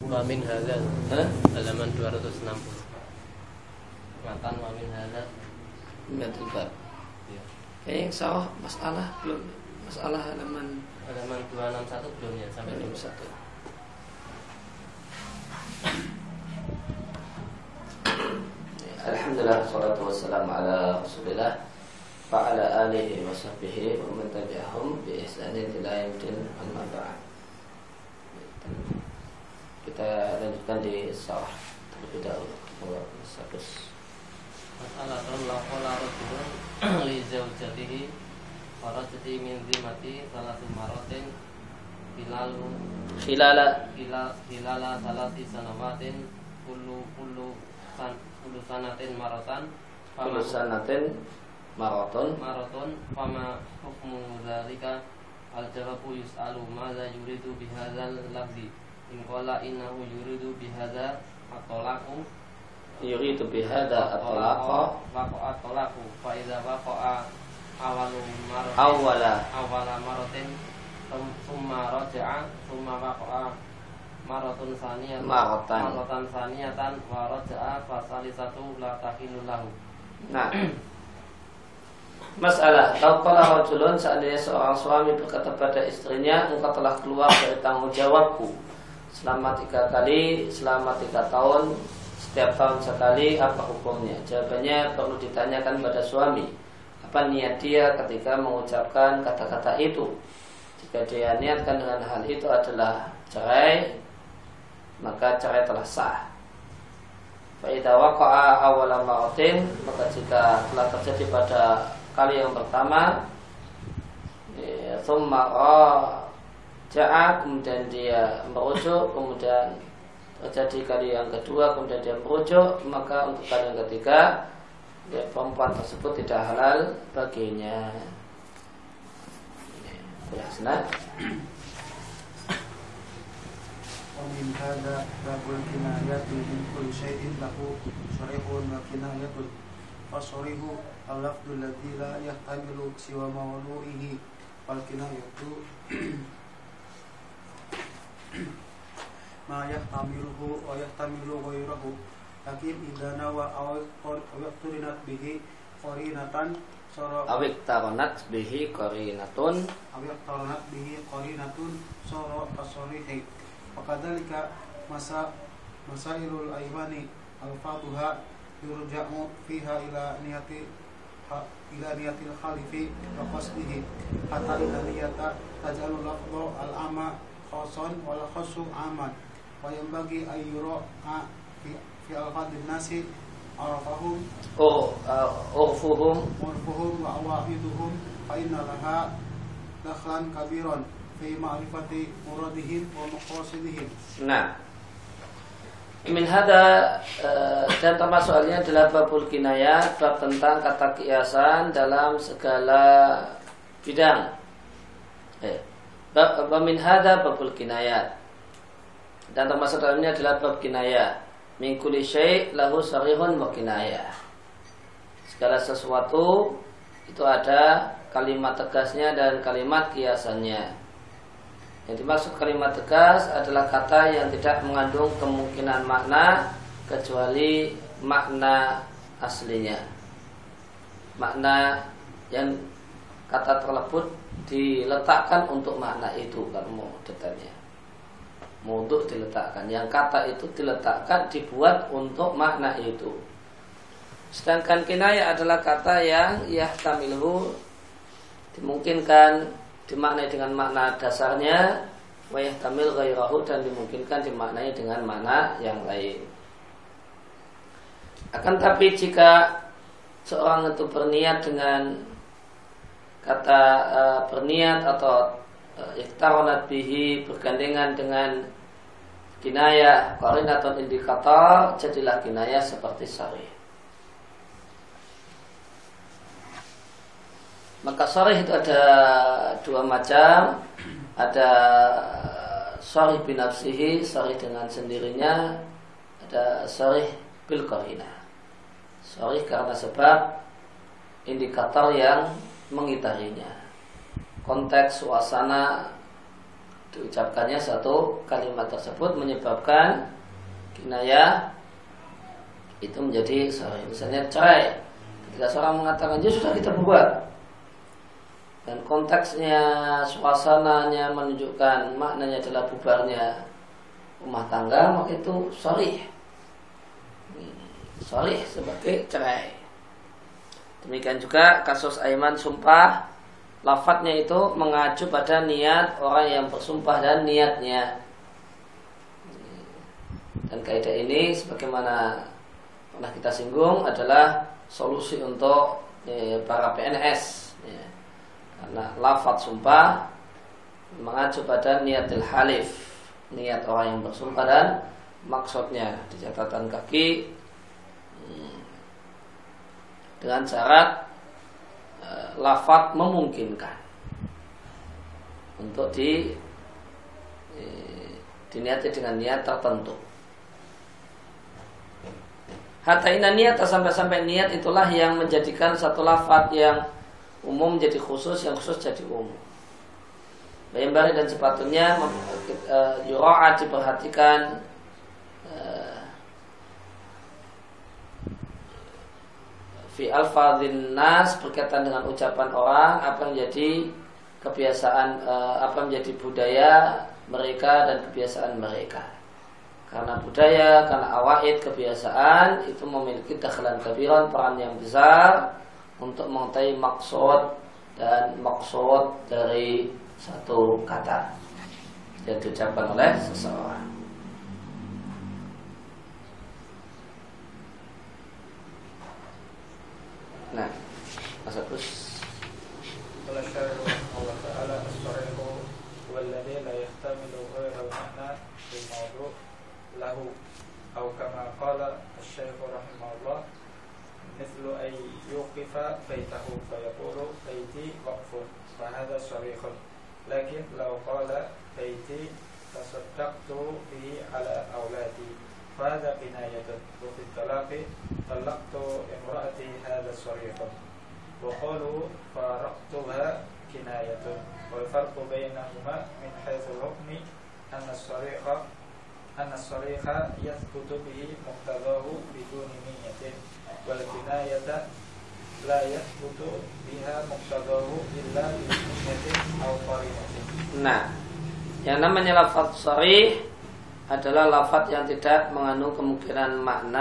Wamin hadza halaman 260. Matan wamin hadza Gantul bab. ya. Kayaknya sawah masalah belum. Masalah halaman 261 belum ya sampai 21. Alhamdulillah, salatu wassalamu ala Rasulillah wa ala alihi wa sahbihi wa man tabi'ahum bi ihsanin ila yaumil amma ba'd. Kita lanjutkan di sawah terlebih dahulu. Masalah la qala rajulun li zawjatihi farajati min zimati salatu maratin hilala salati sanawatin kullu sanatin maraton fama hukmu dzalika al-jawabu yus'alu madza yuridu bihadzal lafzi in qala innahu yuridu bihadza at-talaqu yuridu bihadza at-talaqa at-talaqu fa idza waqa'a awwala maratin thumma raja'a thumma waqa'a maratan saniyatan wa raja'a fa salisatu la tahillu lahu. Nah, masalah kalau rajulun seandainya seorang suami berkata pada istrinya, engkau telah keluar dari tanggung jawabku selama 3 kali, selama 3 tahun, setiap tahun sekali, apa hukumnya? Jawabannya perlu ditanyakan pada suami, apa niat dia ketika mengucapkan kata-kata itu. Jika dia niatkan dengan hal itu adalah cerai, maka cerai telah sah. Fa idza waqa'a awwala maratin, maka jika telah terjadi pada kali yang pertama, thumma raja'a, kemudian dia merujuk, kemudian terjadi kali yang kedua, kemudian dia merujuk, maka untuk kali yang ketiga perempuan tersebut tidak halal baginya. Jelas. ومن هذا باب الكنايات من كل شيء له صريح وكناية فالصريح اللفظ الذي لا يحتمل سوى موضوعه والكناية ما يحتمله ويحتمل غيره لكن إذا نوى أو اقترنت به قرينة صار كالصريح. وكذلك مسائل الأيمان ألفاظها يرجع فيها إلى نية الخالف وقصده حتى إن النية تجعل اللفظ العام خاصا والخاص عاما وينبغي أن يراعى في ألفاظ الناس عرفهم وأواعدهم فإن لها دخلا كبيرا fi ma'rifati muradihim wa maqasidihim. Nah, min hada dan termasuk halnya adalah babul kinayat, bab tentang kata kiasan dalam segala bidang. Bab min hada babul kinayat, dan termasuk dalamnya adalah bab kinayah. Min kulli syai' lahu sarihun wa kinayah. Segala sesuatu itu ada kalimat tegasnya dan kalimat kiasannya. Yang dimaksud kalimat tegas adalah kata yang tidak mengandung kemungkinan makna kecuali makna aslinya. Makna yang kata terlebut diletakkan untuk makna itu, kalau mau detailnya. Untuk diletakkan, yang kata itu diletakkan, dibuat untuk makna itu. Sedangkan kinayah adalah kata yang yahtamiluhu, dimungkinkan dimaknai dengan makna dasarnya, wa yahtamil ghairahu, dan dimungkinkan dimaknai dengan makna yang lain. Akan tapi jika seorang itu berniat dengan kata berniat atau iktaronat bihi, bergandengan dengan kinayah, qarinatun indikator, jadilah kinayah seperti sarih. Maka sarih itu ada 2 macam. Ada sarih binafsihi, sarih dengan sendirinya. Ada sarih bil qarinah, sarih karena sebab indikator yang mengitarinya, konteks, suasana, diucapkannya satu kalimat tersebut menyebabkan kinayah itu menjadi sharih. Misalnya cerai, ketika seorang mengatakan ya sudah kita bubar, dan konteksnya, suasananya menunjukkan maknanya adalah bubarnya rumah tangga, maka itu sharih. Sharih sebagai cerai. Demikian juga kasus aiman sumpah, lafadznya itu mengacu pada niat orang yang bersumpah dan niatnya. Dan kaidah ini sebagaimana pernah kita singgung adalah solusi untuk para PNS, karena lafadz sumpah mengacu pada niatil halif, niat orang yang bersumpah dan maksudnya. Di catatan kaki dengan syarat lafadz memungkinkan untuk diniati dengan niat tertentu. Hatta inna niat, sampai niat itulah yang menjadikan satu lafadz yang umum menjadi khusus, yang khusus jadi umum. Bayambari dan sepatutnya yura'at, diperhatikan fi alfadhin nas, berkaitan dengan ucapan orang, apa yang menjadi kebiasaan, apa yang menjadi budaya mereka dan kebiasaan mereka. Karena budaya, karena awaid, kebiasaan itu memiliki dakhlan kabiran, peran yang besar untuk mengetahui maksud dan maksud dari satu kata yang diucapkan oleh seseorang. Nah, Mas Agus. قال الشارع رحمه الله تعالى الصريح هو الذي لا يحتمل غير المعنى بالموضوع له أو كما قال الشيخ رحمه الله مثل أن يوقف بيته فيقول بيتي وقف فهذا صريح. لكن لو قال بيتي تصدقت به على أولادي فهذا كناية. وفي الطلاق طلقت امرأتي هذا صريح. وقالوا فارقتها كناية. والفرق بينهما من حيث الحكم أن الصريح يثبت به مقتضاه بدون نية، والكناية لا يثبت بها مقتضاه إلا بنية أو قرينة. Nah, yang namanya lafadz sharih adalah lafadz yang tidak mengandung kemungkinan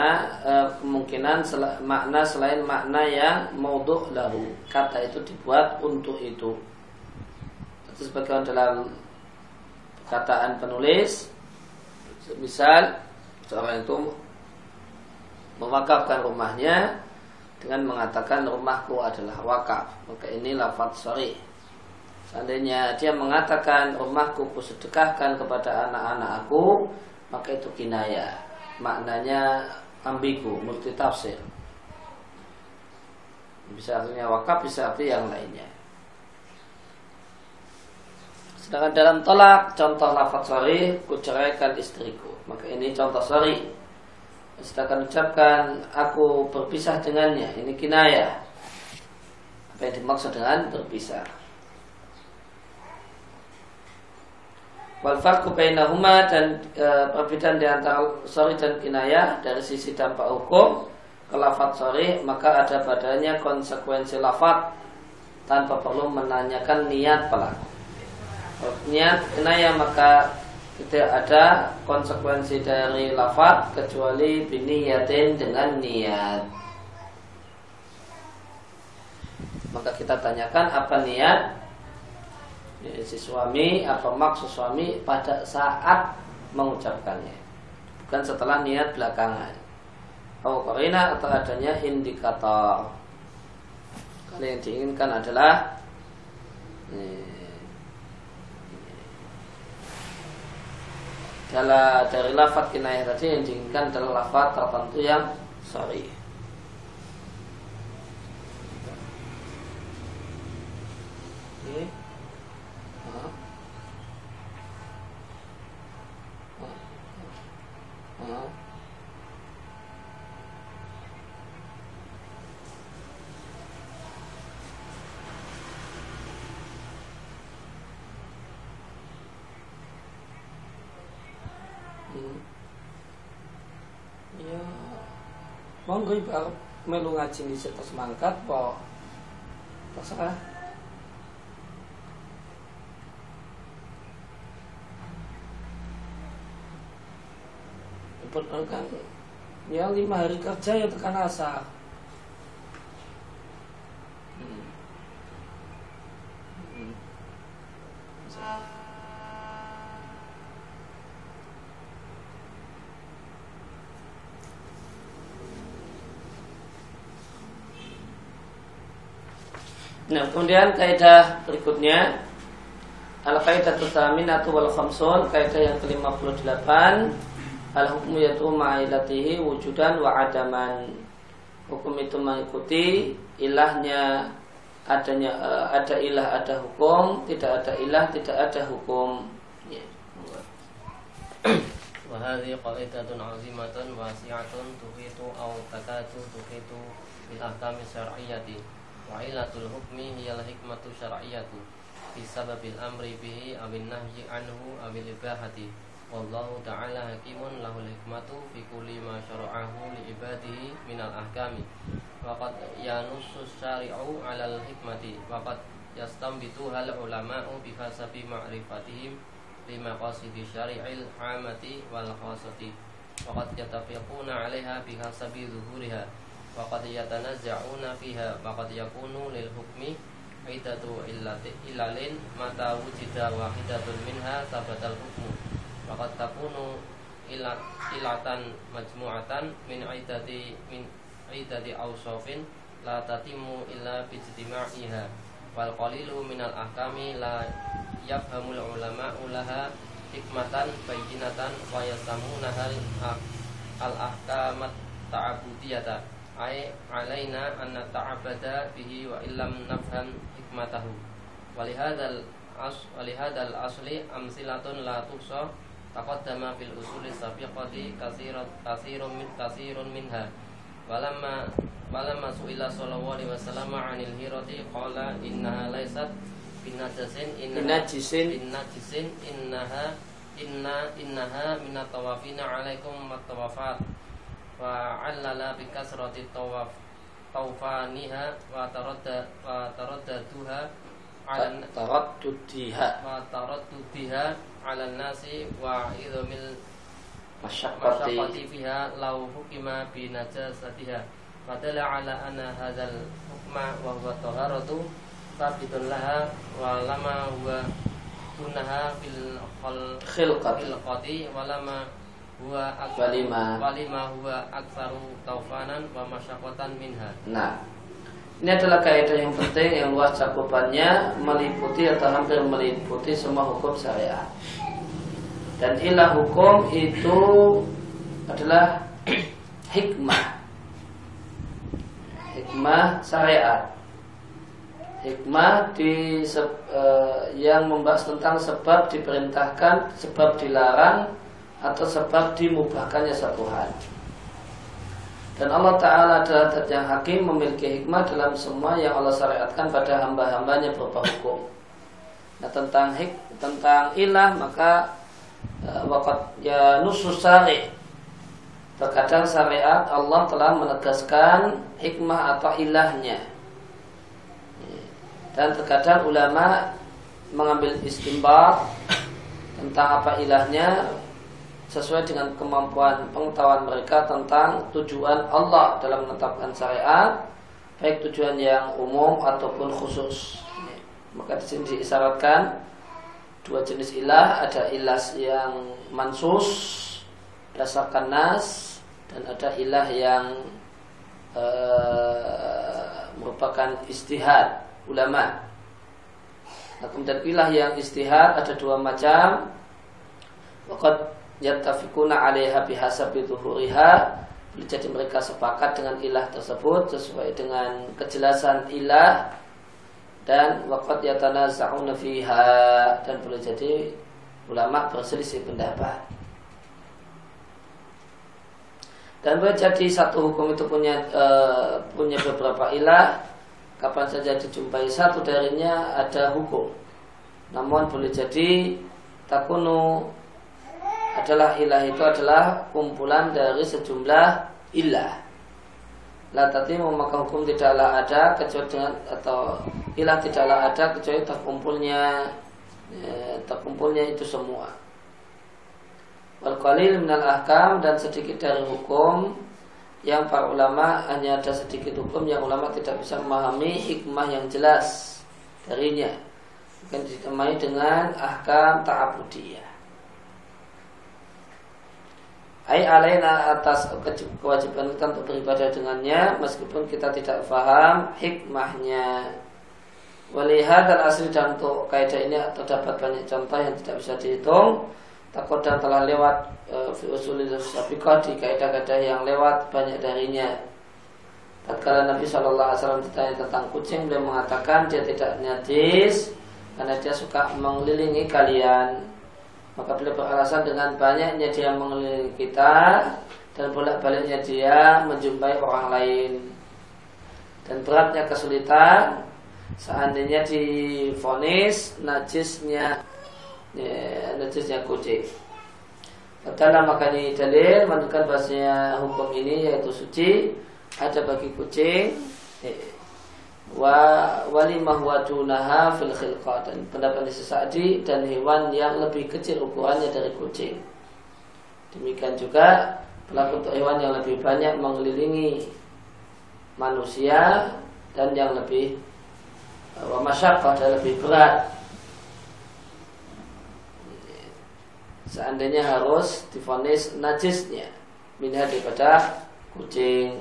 makna selain makna yang maudhu' lahu. Kata itu dibuat untuk itu. Itu sebagaimana dalam perkataan penulis, misal seorang itu mewakafkan rumahnya dengan mengatakan rumahku adalah wakaf, maka ini lafadz sharih. Seandainya dia mengatakan rumahku kusedekahkan kepada anak-anak aku, maka itu kinayah, maknanya ambigu, multitafsir. Bisa artinya wakaf, bisa arti yang lainnya. Sedangkan dalam tolak, contoh lafadz sharih, kuceraikan istriku, maka ini contoh sharih. Sedangkan ucapkan aku berpisah dengannya, ini kinayah. Apa yang dimaksud dengan berpisah? Wal farqu bainahuma, dan perbedaan di antara sharih dan kinayah dari sisi dampak hukum. Ke lafadz sharih maka ada padanya konsekuensi lafadz tanpa perlu menanyakan niat pelaku. Niat kinayah maka tidak ada konsekuensi dari lafadz kecuali biniyatin, dengan niat. Maka kita tanyakan apa niat si suami, apa maksud suami pada saat mengucapkannya, bukan setelah niat belakangan. Atau qarina, atau adanya indikator. Kalau yang diinginkan adalah dari lafadz kinayah tadi, yang diinginkan adalah lafadz tertentu yang sharih. monggo ibu melu ngaji di situs mangkat po terserah. Kan ya 5 hari kerja ya tekan asar. Nah, kemudian kaidah berikutnya al-qaidatus tsaminatu wal khamsun, kaidah yang ke-58, al-hukmu yatu ma'ilatihi wujudan wa adaman. Hukum itu mengikuti ilahnya, adanya ada ilah ada hukum, tidak ada ilah tidak ada hukum. Ya. Wa hadhihi qaidatun 'azimatun wasi'atun tuhitu aw takatu tuhitu bil ahkami syar'iyyati. Wa ilatul hukmi hiyal hikmatu syar'iyyatu fi sababil amri bihi awin nahyi anhu awil ibahati. Wallahu ta'ala hakimun lahul hikmatu fi kulli ma syara'ahu li ibadihi minal ahkami. Wa qad yanussus syari'u 'alal hikmati wa qad yastambituhal ulama'u bi hasabi ma'rifatihim lima qasidi syari'il 'amati wal khassati. Wa qad yatafiquna 'alaiha bi hasabi zuhuriha. Waqad yatanazza'una fiha waqad yakunu lil hukmi idatu ilalin mata wujida wahidatun minha sabatal hukmu waqad takunu ilatan majmu'atan min idati awsafin la tatimmu illa bijtima'iha wal qalilu minal ahkami la yafhamul ulama'u laha hikmatan bayyinatan wa yasamunahal al-ahkamat ta'abudiyata ay alaina an nata'abbada bihi wa illam nafham hikmatahu. Walihadzal asli amsilatun la tuhsa taqaddama fil usuli sabiqati kasirun minha. Walamma su'ila sallallahu alaihi wasallam 'anil hirati qala innaha laysat binajisin innaha minat tawafina 'alaikum mat-tawafat wa 'allala bi kasrati tawfaniha wa taradduduha 'ala nasi wa idhamil masyaqqati fiha law hukima bi najasatiha fadalla 'ala anna hadzal hukma wa huwa taharatu sabitun laha wa lama huwa dunaha fil khilqati wa lama huwa walima huwa aktsaru taufanan wa masyaqqatan minha. Nah, ini adalah kaidah yang penting yang luas cakupannya, meliputi atau hampir meliputi semua hukum syariat. Dan ilah hukum itu adalah hikmah syariat. Hikmah yang membahas tentang sebab diperintahkan, sebab dilarang, atau sebab dimubahkannya satu hal. Dan Allah Ta'ala adalah zat yang hakim, memiliki hikmah dalam semua yang Allah syariatkan pada hamba-hambanya berupa hukum. Nah, tentang ilah maka waqad ya nusus syari', terkadang syariat Allah telah menegaskan hikmah atau ilahnya, dan terkadang ulama mengambil istinbat tentang apa ilahnya sesuai dengan kemampuan pengetahuan mereka tentang tujuan Allah dalam menetapkan syariat, baik tujuan yang umum ataupun khusus. Maka di sini diisyaratkan dua jenis ilah, ada ilah yang mansus berdasarkan nas, dan ada ilah yang merupakan ijtihad ulama. Nah, kemudian ilah yang ijtihad ada dua macam. Waqad yattafiquna 'alaiha bihasabi zuhuriha, boleh jadi mereka sepakat dengan ilah tersebut sesuai dengan kejelasan ilah, dan waqad yatanaza'una fiha, dan boleh jadi ulama berselisih pendapat. Dan boleh jadi satu hukum itu punya beberapa ilah, kapan saja dijumpai satu darinya ada hukum. Namun boleh jadi takunu adalah ilah itu adalah kumpulan dari sejumlah ilah. la tatimu maka hukum tidaklah ada kecuali dengan atau ilah tidaklah ada kecuali terkumpulnya itu semua. Wal qalil minal ahkam dan sedikit dari hukum yang para ulama hanya ada sedikit hukum yang ulama tidak bisa memahami hikmah yang jelas darinya. Bukan ditemai dengan ahkam ta'abudiyah. Ai alaina atas kewajiban kita untuk beribadah dengannya meskipun kita tidak paham hikmahnya. Walihadzal asli dan untuk kaidah ini terdapat banyak contoh yang tidak bisa dihitung. Takut dan telah lewat fi usulil sabiqah di kaidah-kaidah yang lewat banyak darinya. Tatkala Nabi SAW ditanya tentang kucing, beliau mengatakan dia tidak najis karena dia suka mengelilingi kalian. Maka beliau beralasan dengan banyaknya dia mengelilingi kita dan bolak-baliknya dia menjumpai orang lain dan beratnya kesulitan seandainya divonis najisnya kucing. Dalam maka ini dalil menunjukkan bahasanya hukum ini yaitu suci ada bagi kucing walimah wadunaha fil khilqah dan pendapat Sa'di dan hewan yang lebih kecil ukurannya dari kucing. Demikian juga berlaku untuk hewan yang lebih banyak mengelilingi manusia dan yang lebih masyaqqah dan lebih berat. Seandainya harus divonis najisnya minha daripada kucing.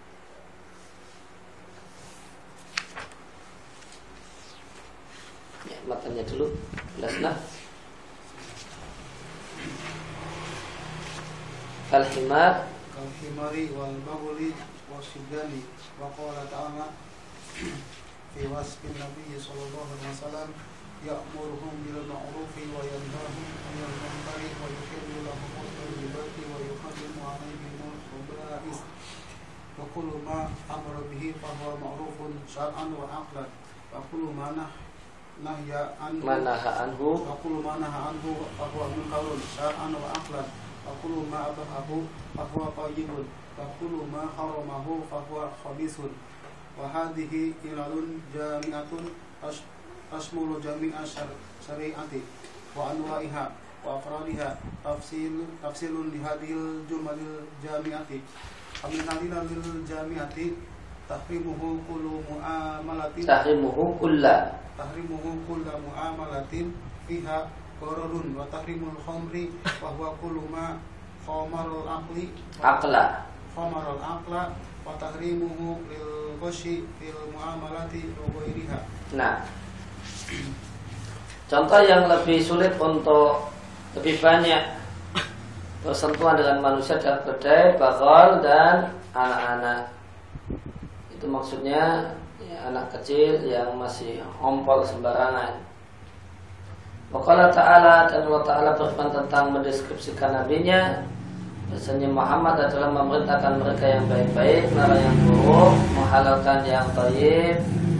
Matanya dulu jelaslah. Al-himar kal-himari wal baghli wasidani wa qala ta'ala fi wasfin Nabi sallallahu alaihi wasallam ya'muruhum bil ma'rufi wa yanhahum 'anil munkari wa yuhillu lahum at-tayyibati wa yuharrimu 'alayhim al-khaba'ith wa kullu ma amara bihi fa huwa ma'rufun syar'an wa 'aqlan wa kullu ma nahya anhu wa kullu ma naha anhu fa huwa munkarun syar'an wa aqlan wa kullu ma abahahu fa huwa tayyibun wa kullu ma haramahu fa huwa khabithun wa hadhihi ilalun jami'atun tasmulu jami'a syari'ati wa anwa'iha wa afradiha tafsilun li hadhil jumalil jami'ati amin halil jami'ati tahrimuhu kullu mu'amalatin tahrimuhu kulla mu'amalatin fiha qararun wa tahrimul khamri wa huwa kullu ma khamarul aqla wa tahrimuhu lil ghashi fil mu'amalati wa ghairiha. Nah, contoh yang lebih sulit untuk lebih banyak bersentuhan dengan manusia dan kedai, baghal dan anak-anak. Itu maksudnya anak kecil yang masih ompol sembarangan. Waqala ta'ala dan Allah Ta'ala berfirman tentang mendeskripsikan nabinya bahasanya Muhammad adalah memerintahkan mereka yang baik-baik, melarang yang buruk, menghalalkan yang thayyib,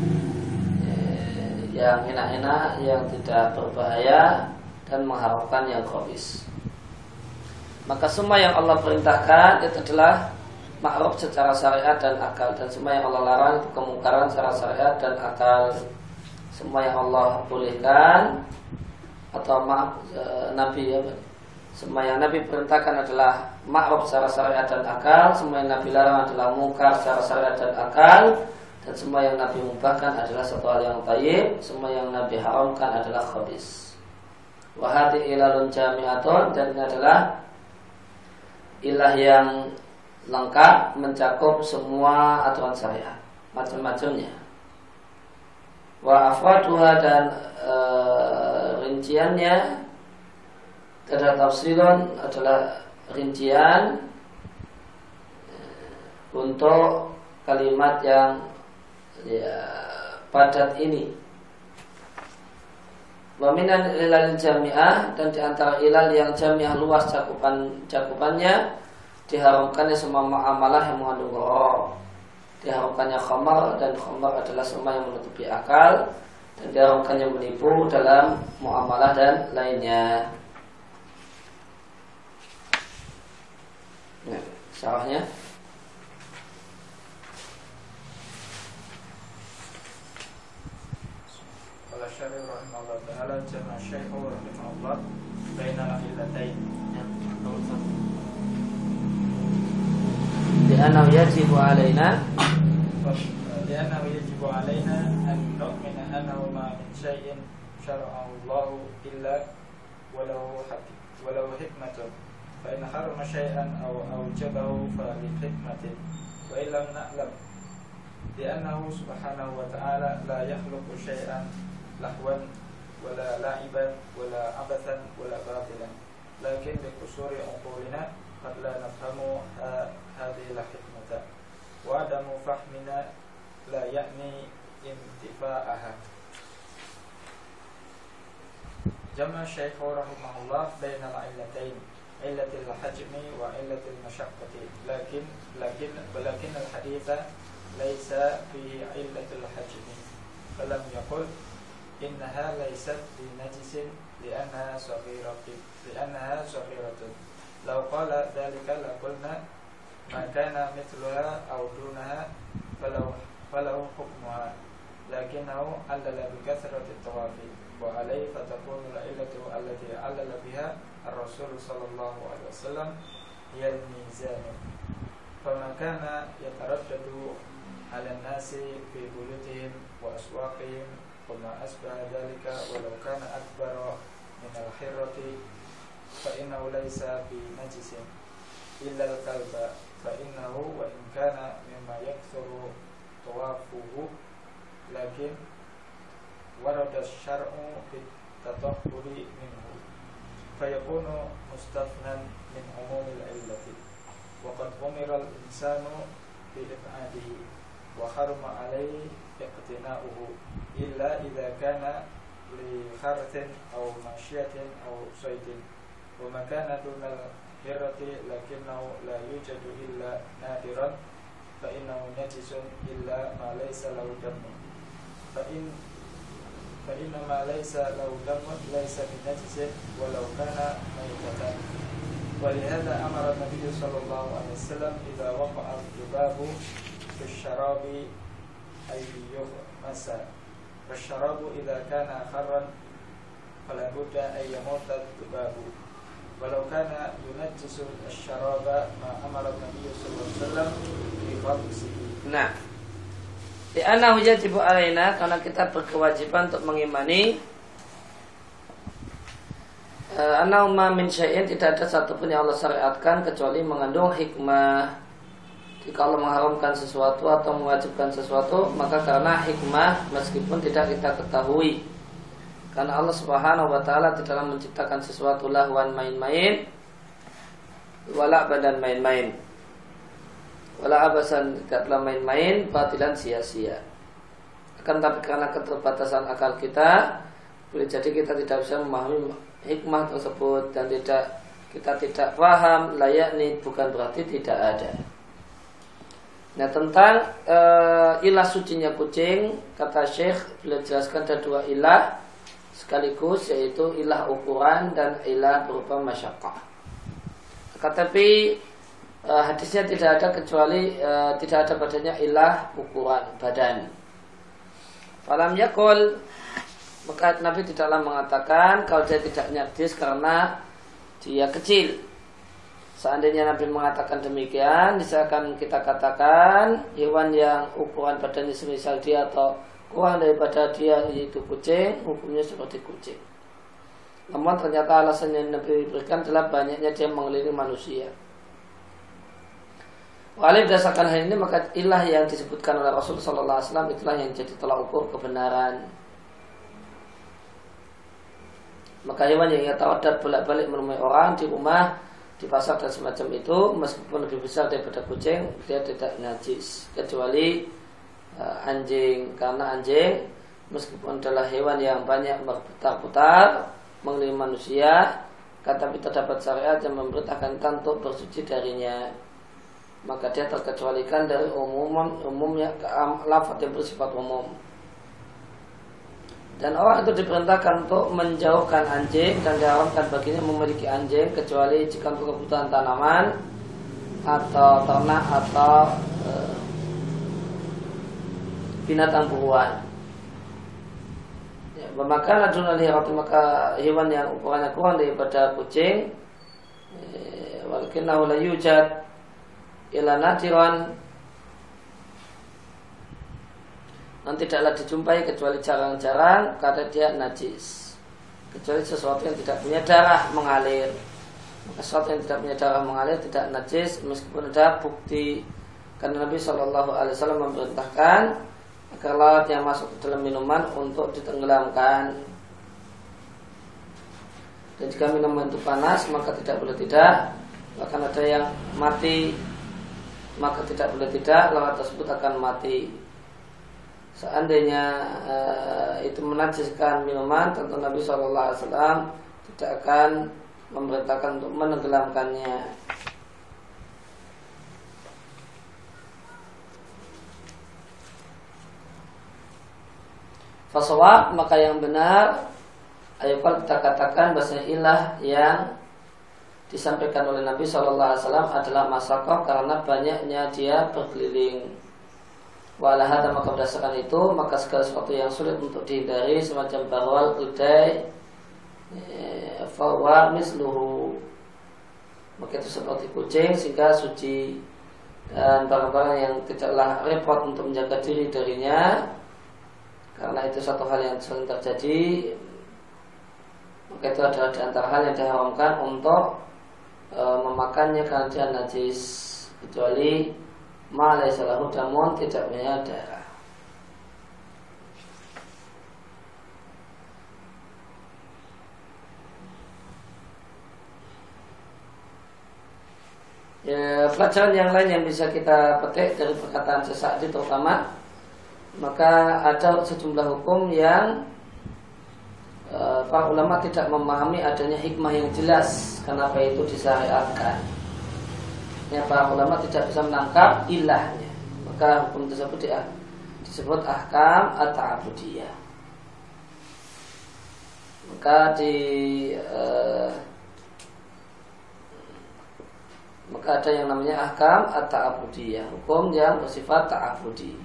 yang enak-enak, yang tidak berbahaya, dan mengharamkan yang khabis. Maka semua yang Allah perintahkan itu adalah ma'ruf secara syariat dan akal, dan semua yang Allah larang itu kemungkaran secara syariat dan akal. Semua yang Allah bolehkan atau Nabi semua yang Nabi perintahkan adalah ma'ruf secara syariat dan akal. Semua yang Nabi larang adalah mungkar secara syariat dan akal, dan semua yang Nabi mubahkan adalah satu hal yang thayyib. Semua yang Nabi haramkan adalah khabis. Wa hadhi ilalun jami'atun, dan ini adalah ilah yang lengkap mencakup semua aturan syariat macam-macamnya. Wa afraduha dan rinciannya adalah tafsilun, adalah rincian untuk kalimat yang padat ini. Wa minan ilal jami'ah, dan diantara ilal yang jami'ah luas cakupannya diharamkannya semua muamalah yang mengandung gharar. Diharamkannya khamar, dan khamar adalah semua yang menutupi akal, dan diharamkannya menipu dalam muamalah dan lainnya. Nah, syarahnya ta'ala jama'a syekhu rahimahullah bainal illatain. Li'annahu yajibu alaina an nu'mina annahu ma min syai'in syara'ahu Allah illa walau hikmatun fa in harama syai'an aw awjabahu fa li hikmatin wa illam na'lam li'annahu subhanahu wa ta'ala la yakhluqu syai'an lahwan wala la'iban wala abathan wala batilan lakin bi qusuri uqulina qad la nafhamu hadhihi la hikmata wa adamu fahmina la ya'ni intifa'aha. Jama' Syekh rahimahullah bainal illatain illatil hajmi wa illatil masyaqqati lakin al-haditha laysa fihi illatul hajmi falam yaqul innaha laysat bi najisin li'annaha saghiratun law qala dhalika la qulna ma kana mithluha aw dunaha falau hukmuha lakinnahu allala bi kathrati tawafi wa alayhi fatakunu al-illatu allati allala biha ar-rasul sallallahu alaihi wasallam hiya al-mizan fama kana yataraddadu ala an-nasi fi buyutihim wa aswaqihim wa ma asbaha dhalika walau kana akbara min al-hirrati fa innahu laysa bi najisin illa al-kalba fa innahu wa in kana mimma yakthuru tawafuhu lakin warada syar'u fit tatahhuri minhu fayakunu mustafnan min umumil illati wa qad umira al-insanu bi ib'adihi wa harama alayhi iqtina'uhu illa idza kana li kharthin aw mashiyatin aw saydin wa ma kana dunal hirrati lakinnahu la yujadu illa nadiran fa innahu najisun illa ma laysa lahu damun fa inna ma laysa lahu damun laysa binajisin walau kana maytatan wa lihadha amara an-nabiy sallallahu alaihi wasallam idza waqa'a al-dhubabu fi asy-syarabi ay yughmasa wa asy-syarabu idza kana kharran fala budda ay yamuta al-dhubabu walau kana yunajjisu asy-syaraba ma amara an-nabiy sallallahu alaihi wasallam bi qabsihi. Nah, li'annahu yajibu alaina, karena kita berkewajiban untuk mengimani annahu ma min syai'in, tidak ada satupun yang Allah syariatkan kecuali mengandung hikmah. Jika Allah mengharamkan sesuatu atau mewajibkan sesuatu, maka karena hikmah meskipun tidak kita ketahui. Karena Allah Subhanahu wa taala tidaklah menciptakan sesuatu lahwan main-main, wala badan main-main, wala abasan tidaklah main-main, batilan sia-sia. Akan tapi karena keterbatasan akal kita, boleh jadi kita tidak bisa memahami hikmah tersebut dan kita tidak paham, layakni bukan berarti tidak ada. Nah, tentang ilah sucinya kucing, kata Syekh beliau jelaskan ada dua ilah sekaligus, yaitu ilah ukuran dan ilah berupa masyaqqah. Tetapi hadisnya tidak ada kecuali tidak ada padanya ilah ukuran badan. Falam yakul, maka Nabi tidaklah mengatakan kalau dia tidak najis karena dia kecil. Seandainya Nabi mengatakan demikian, misalkan kita katakan hewan yang ukuran badannya semisal dia atau kurang daripada dia, yaitu kucing, hukumnya seperti kucing. Namun ternyata alasan yang Nabi berikan adalah banyaknya dia mengelilingi manusia. Oleh berdasarkan hal ini, maka ilah yang disebutkan oleh Rasul Sallallahu Alaihi Wasallam itulah yang jadi tolak ukur kebenaran. Maka hewan yang ia tawadat bolak-balik menemui orang di rumah, di pasar dan semacam itu, meskipun lebih besar daripada kucing, dia tidak najis, kecuali anjing, karena anjing meskipun adalah hewan yang banyak berputar-putar mengelilingi manusia, tapi terdapat syariat yang memerintahkan untuk bersuci darinya, maka dia terkecualikan dari umumnya lafaz yang bersifat umum. Dan orang itu diperintahkan untuk menjauhkan anjing dan diharamkan baginya memiliki anjing kecuali jika untuk kebutuhan tanaman atau ternak atau binatang buruan. Ya, memakan adunal hirati, maka hewan yang ukurannya kurang daripada kucing, walakinnahu la yujad ila nadiran, dan tidaklah dijumpai kecuali jarang-jarang karena dia najis, kecuali sesuatu yang tidak punya darah mengalir. Maka sesuatu yang tidak punya darah mengalir tidak najis meskipun ada bukti, karena Nabi SAW memerintahkan agar lalat yang masuk ke dalam minuman untuk ditenggelamkan. Dan jika minuman itu panas maka tidak boleh tidak, bahkan ada yang mati maka tidak boleh tidak, lalat tersebut akan mati. Seandainya itu menajiskan minuman, tentu Nabi SAW tidak akan memerintahkan untuk menenggelamkannya. Fasawab, maka yang benar ayat kita katakan bahasa ilah yang disampaikan oleh Nabi SAW adalah masakoh, karena banyaknya dia berkeliling. Walahada, maka berdasarkan itu maka segala sesuatu yang sulit untuk dihindari semacam bahwal, kedai, fawa misluhu, maka itu seperti kucing sehingga suci, dan barang-barang yang tidaklah repot untuk menjaga diri darinya, karena itu satu hal yang sering terjadi, maka itu adalah di antara hal yang diharamkan untuk memakannya karena dia najis, kecuali ma laysa lahu damun, tidak punya darah. Ya, pelajaran yang lain yang bisa kita petik dari perkataan Sa'di terutama, maka ada sejumlah hukum yang para ulama tidak memahami adanya hikmah yang jelas kenapa itu disyariatkan. Ya, para ulama tidak bisa menangkap ilahnya, maka hukum tersebut disebut ahkam at-ta'abudiyah. Maka maka ada yang namanya ahkam at-ta'abudiyah, hukum yang bersifat ta'abudi.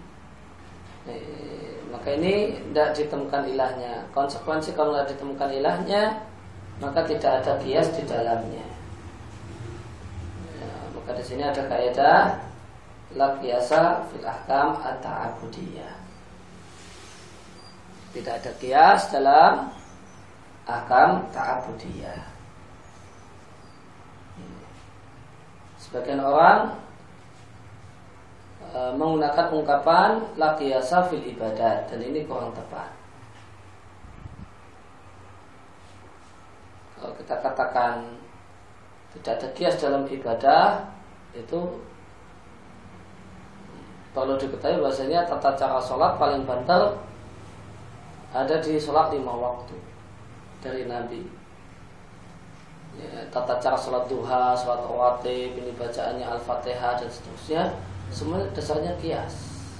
Maka ini tidak ditemukan ilahnya. Konsekuensi kalau tidak ditemukan ilahnya, maka tidak ada qiyas di dalamnya. Maka di sini ada kaidah la qiyasa fil ahkam at-ta'abudiyah. Tidak ada qiyas dalam ahkam ta'abudiyah. Sebagian orang menggunakan ungkapan la qiyasa fil ibadat, dan ini kurang tepat. Kalau kita katakan tidak ada qiyas dalam ibadah, itu perlu diketahui bahasanya tata cara sholat paling banter ada di sholat 5 waktu dari Nabi. Ya, tata cara sholat duha, sholat rawatib, ini bacaannya Al-Fatihah dan seterusnya, semuanya dasarnya qiyas.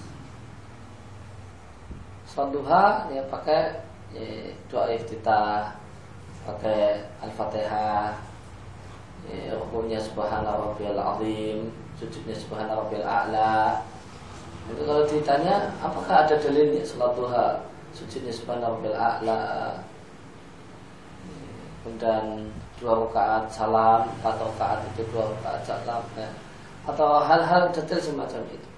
Sholat duha ya pakai doa iftitah, pakai Al-Fatihah, rukunya subhana rabbiyal azim, sujudnya subhana rabbiyal a'la. Itu kalau ditanya apakah ada dalilnya sholat duha sujudnya subhana rabbiyal a'la, kemudian 2 rakaat salam, 4 rakaat itu 2 rakaat salam, ya, atau hal-hal detail semacam itu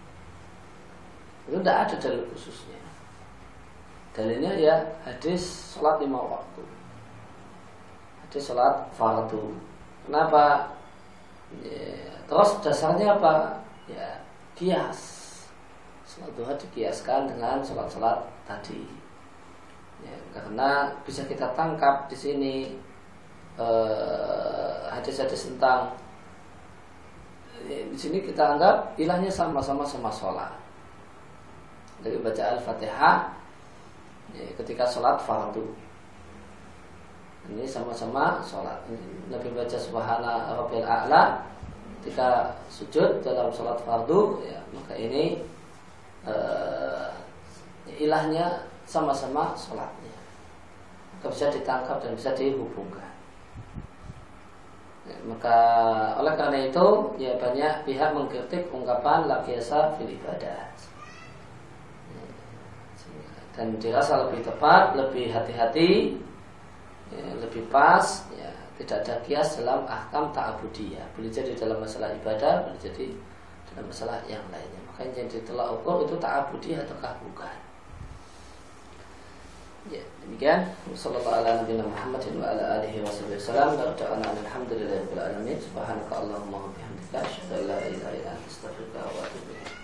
tidak ada dalil khususnya. Dalilnya ya hadis sholat 5 waktu, hadis sholat fardu. Kenapa? Ya, terus dasarnya apa? Ya qiyas. Sholat duha dikiaskan dengan sholat-sholat tadi. Ya, karena bisa kita tangkap di sini hadis-hadis tentang di sini kita anggap ilahnya sama-sama sholat. Dari baca Al-Fatihah ya, ketika sholat fardu, ini sama-sama sholat. Nabi baca subhana rabbiyal a'la ketika sujud dalam sholat fardu, ya, maka ini ilahnya sama-sama sholatnya, maka bisa ditangkap dan bisa dihubungkan. Ya, maka oleh karena itu ya banyak pihak mengkritik ungkapan la qiyasa fil ibadah. dan dirasa lebih tepat, lebih hati-hati, ya, lebih pas, ya, tidak ada kias dalam ahkam ta'abudiyah. Boleh jadi dalam masalah ibadah, boleh jadi dalam masalah yang lainnya. Makanya yang ditolak ukur itu ta'abudiyah ataukah bukan. Ya, demikian. Sallallahu ala nabiyina Muhammadin wa ala alihi wasallam. Alhamdulillahirabbil alamin. Subhanakallahumma wa bihamdika asyhadu an la ilaha illa anta astaghfiruka wa atubu ilaik.